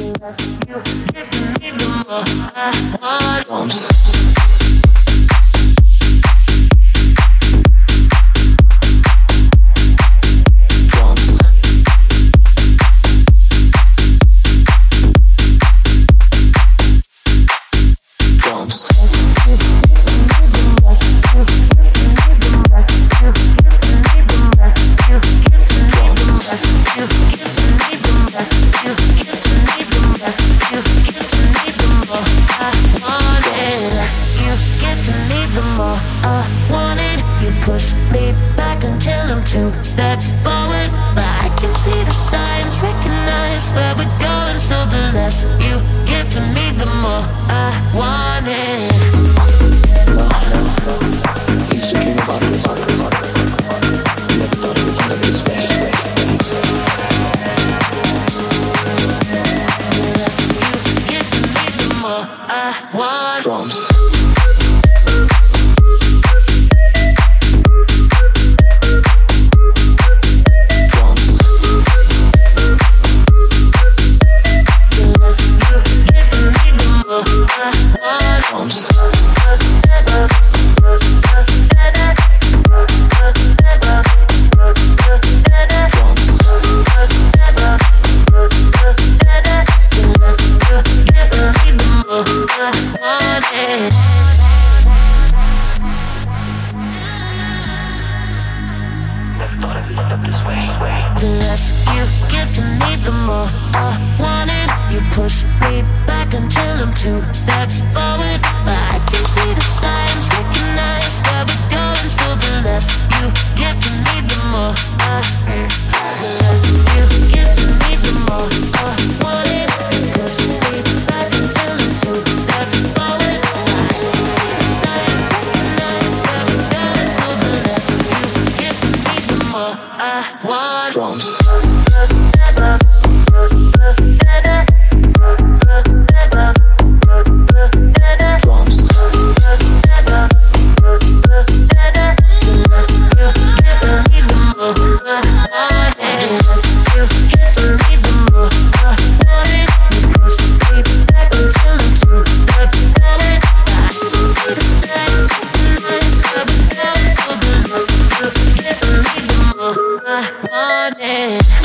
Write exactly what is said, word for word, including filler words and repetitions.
Drums. Push me back until I'm two steps forward, but I can see the signs, recognize where we're going. So the less you give to me, the more I want it. No, no, I used to dream about this. Never thought it would come this way. The less you give to me, the more I want. Drums. Drums. The less you give to me, the more I want it. You push me back until I'm two steps forward, but I can see the signs, recognize where we're going. So the less you give to me, the more I The less you give to me, the more I want it. You push me back until I'm two steps forward, but I can see the signs, recognize where we're going. So the less you give to me, the more I want. Drums. I want it.